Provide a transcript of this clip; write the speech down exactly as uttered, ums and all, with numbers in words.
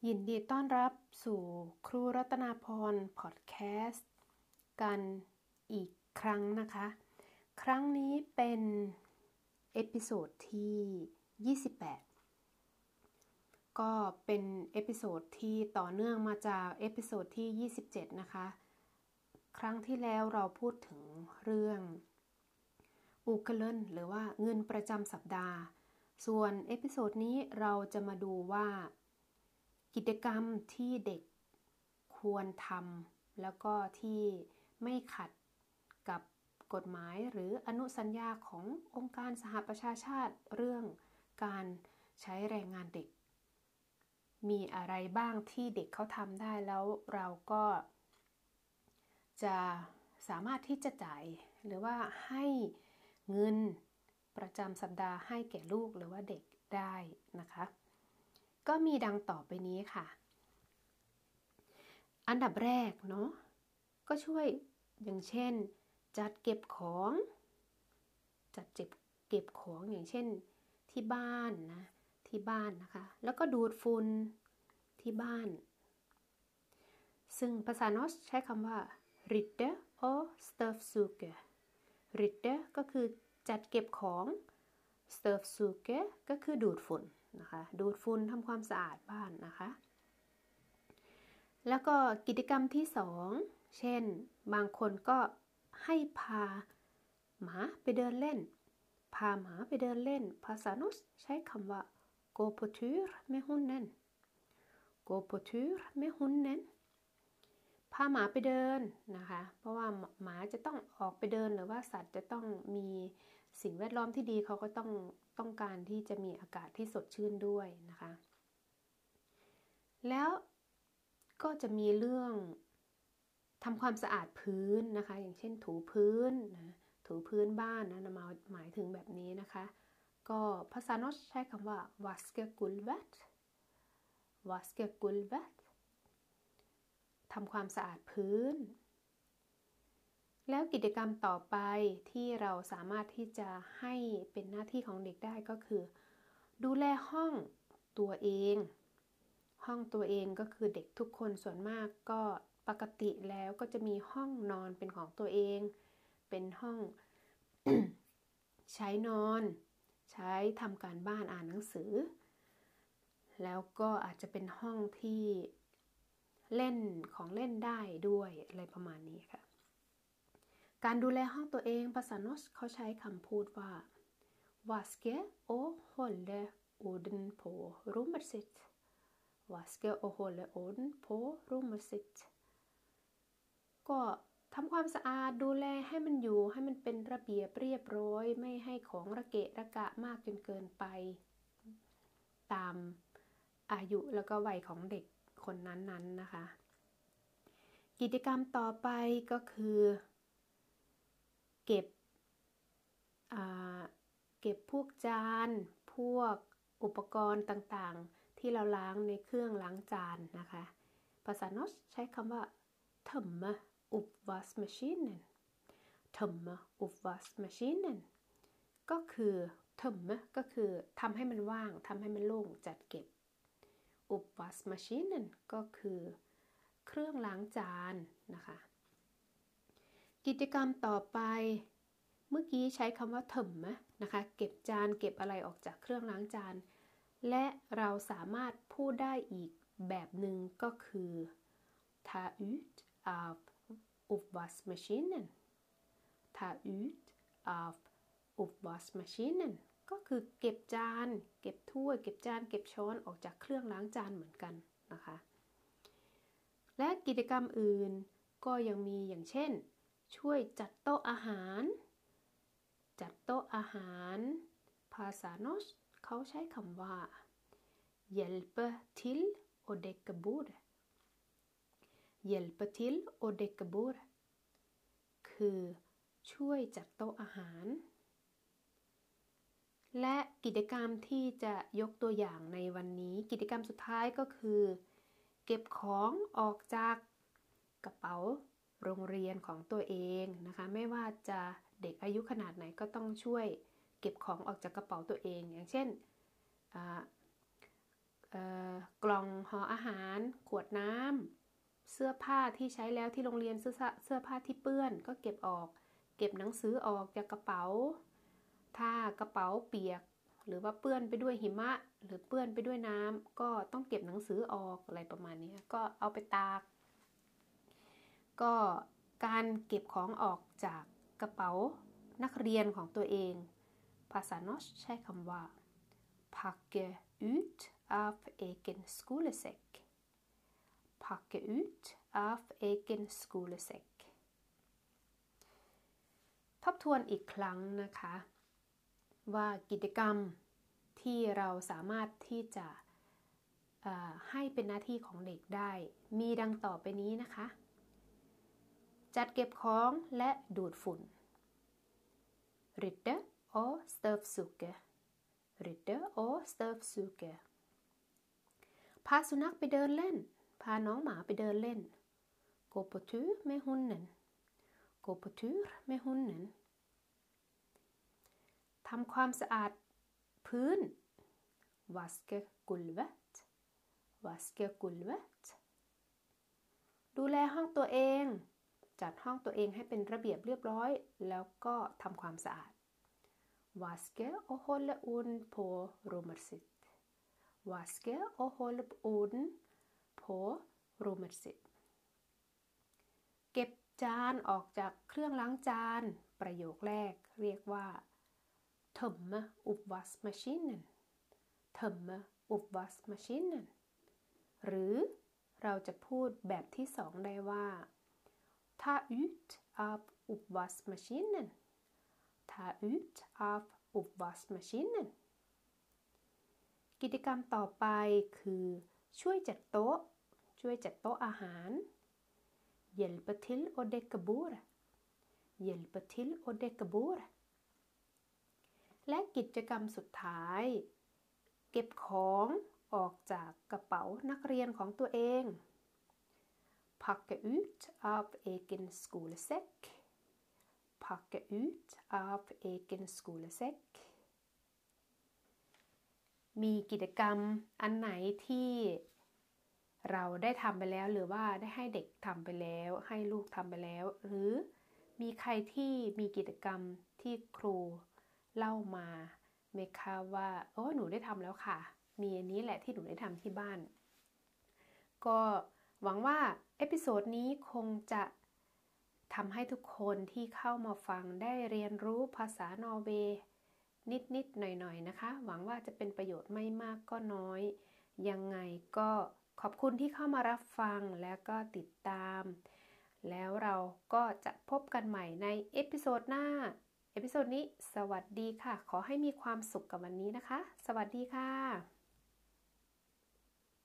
ยินดีต้อนรับสู่ครูรัตนาพรพอดแคสต์กันอีกครั้งนะคะครั้งนี้เป็นเอพิโซดที่ยี่สิบแปดก็เป็นเอพิโซดที่ต่อเนื่องมาจากเอพิโซดที่ยี่สิบเจ็ดนะคะครั้งที่แล้วเราพูดถึงเรื่องอูเกเลนหรือว่าเงินประจำสัปดาห์ส่วนเอพิโซดนี้เราจะมาดูว่ากิจกรรมที่เด็กควรทำแล้วก็ที่ไม่ขัดกับกฎหมายหรืออนุสัญญาขององค์การสหประชาชาติเรื่องการใช้แรงงานเด็กมีอะไรบ้างที่เด็กเขาทำได้แล้วเราก็จะสามารถที่จะจ่ายหรือว่าให้เงินประจำสัปดาห์ให้แก่ลูกหรือว่าเด็กได้นะคะก็มีดังต่อไปนี้ค่ะอันดับแรกเนาะก็ช่วยอย่างเช่นจัดเก็บของจัดเก็บเก็บของอย่างเช่นที่บ้านนะที่บ้านนะคะแล้วก็ดูดฝุ่นที่บ้านซึ่งภาษาโนสใช้คำว่า rydde og støvsuge rydde ก็คือจัดเก็บของ støvsuge ก็คือดูดฝุ่นนะคะดูดฝุ่นทำความสะอาดบ้านนะคะแล้วก็กิจกรรมที่สองเช่นบางคนก็ให้พาหมาไปเดินเล่นพาหมาไปเดินเล่นภาษาโนสใช้คำว่า gå på tur med hunden gå på tur med hunden พาหมาไปเดินนะคะเพราะว่าหมาจะต้องออกไปเดินหรือว่าสัตว์จะต้องมีสิ่งแวดล้อมที่ดีเขาก็ต้องต้องการที่จะมีอากาศที่สดชื่นด้วยนะคะแล้วก็จะมีเรื่องทำความสะอาดพื้นนะคะอย่างเช่นถูพื้นนะถูพื้นบ้านนะมาหมายถึงแบบนี้นะคะก็ภาษาโนสใช้คำว่า vaske gulvet vaske gulvet ทำความสะอาดพื้นแล้วกิจกรรมต่อไปที่เราสามารถที่จะให้เป็นหน้าที่ของเด็กได้ก็คือดูแลห้องตัวเองห้องตัวเองก็คือเด็กทุกคนส่วนมากก็ปกติแล้วก็จะมีห้องนอนเป็นของตัวเองเป็นห้อง ใช้นอนใช้ทำการบ้านอ่านหนังสือแล้วก็อาจจะเป็นห้องที่เล่นของเล่นได้ด้วยอะไรประมาณนี้ค่ะการดูแลห้องตัวเองภาษาโนสเขาใช้คำพูดว่า vaske og holde orden på rummet sitt vaske og holde orden på rummet sitt ก็ทำความสะอาดดูแลให้มันอยู่ให้มันเป็นระเบียบเรียบร้อยไม่ให้ของระเกะระกะมากจนเกินไปตามอายุแล้วก็วัยของเด็กคนนั้นๆ น, นะคะกิจกรรมต่อไปก็คือเก็บเก็บพวกจานพวกอุปกรณ์ต่างๆที่เราล้างในเครื่องล้างจานนะคะภาษาโนสใช้คำว่า tömme uppvaskmaskinen tömme uppvaskmaskinen ก็คือ tömme ก็คือทำให้มันว่างทำให้มันโล่งจัดเก็บ uppvaskmaskinen ก็คือเครื่องล้างจานนะคะกิจกรรมต่อไปเมื่อกี้ใช้คำว่าถมนะคะเก็บจานเก็บอะไรออกจากเครื่องล้างจานและเราสามารถพูดได้อีกแบบหนึ่งก็คือ ta ut av uppvaskmaskinen ta ut av uppvaskmaskinen ก็คือเก็บจานเก็บถ้วยเก็บจานเก็บช้อนออกจากเครื่องล้างจานเหมือนกันนะคะและกิจกรรมอื่นก็ยังมีอย่างเช่นช่วยจัดโต๊ะอาหารจัดโต๊ะอาหารภาษาโนสเขาใช้คำว่า hjälpe till och däcka bord hjälpe till och däcka bord คือช่วยจัดโต๊ะอาหารและกิจกรรมที่จะยกตัวอย่างในวันนี้กิจกรรมสุดท้ายก็คือเก็บของออกจากกระเป๋าโรงเรียนของตัวเองนะคะไม่ว่าจะเด็กอายุขนาดไหนก็ต้องช่วยเก็บของออกจากกระเป๋าตัวเองอย่างเช่นกล่องห่ออาหารขวดน้ำเสื้อผ้าที่ใช้แล้วที่โรงเรียนเสื้อเสื้อผ้าที่เปื้อนก็เก็บออกเก็บหนังสือออกจากกระเป๋าถ้ากระเป๋าเปียกหรือว่าเปื้อนไปด้วยหิมะหรือเปื้อนไปด้วยน้ำก็ต้องเก็บหนังสือออกอะไรประมาณนี้ก็เอาไปตากก็การเก็บของออกจากกระเป๋านักเรียนของตัวเองภาษา norsk ใช้คำว่า pakke ut av egen skolesekk pakke ut av egen skolesekk ทบทวนอีกครั้งนะคะว่ากิจกรรมที่เราสามารถที่จะให้เป็นหน้าที่ของเด็กได้มีดังต่อไปนี้นะคะจัดเก็บของและดูดฝุ่น rydde og støvsuge rydde og støvsuge พาสุนัขไปเดินเล่นพาน้องหมาไปเดินเล่น gå på tur med hunden gå på tur med hunden ทำความสะอาดพื้น vaske gulvet vaske gulvet ดูแลห้องตัวเองจัดห้องตัวเองให้เป็นระเบียบเรียบร้อยแล้วก็ทำความสะอาด vaske og holde orden på rommet sitt vaske og holde orden på rommet sitt เก็บจานออกจากเครื่องล้างจานประโยคแรกเรียกว่า tömme oppvaskmaskinen tömme oppvaskmaskinen หรือเราจะพูดแบบที่สองได้ว่า ta ut av oppvaskmaskinen ta ut av oppvaskmaskinen กิจกรรมต่อไปคือช่วยจัดโต๊ะช่วยจัดโต๊ะอาหาร hjälpe till å dekke bordet hjälpe till å dekke bordet และกิจกรรมสุดท้ายเก็บของออกจากกระเป๋านักเรียนของตัวเอง pakke ut av egen skolesekk pakke ut av egen skolesekk มีกิจกรรมอันไหนที่เราได้ทำไปแล้วหรือว่าได้ให้เด็กทำไปแล้วให้ลูกทำไปแล้วหรือมีใครที่มีกิจกรรมที่ครูเล่ามาไหมคะว่าโอ้หนูได้ทำแล้วค่ะมีอันนี้แหละที่หนูได้ทำที่บ้านก็หวังว่าเอพิโซดนี้คงจะทำให้ทุกคนที่เข้ามาฟังได้เรียนรู้ภาษานอร์เวย์นิดๆหน่อยๆนะคะหวังว่าจะเป็นประโยชน์ไม่มากก็น้อยยังไงก็ขอบคุณที่เข้ามารับฟังแล้วก็ติดตามแล้วเราก็จะพบกันใหม่ในเอพิโซดหน้าเอพิโซดนี้สวัสดีค่ะขอให้มีความสุขกับวันนี้นะคะสวัสดีค่ะ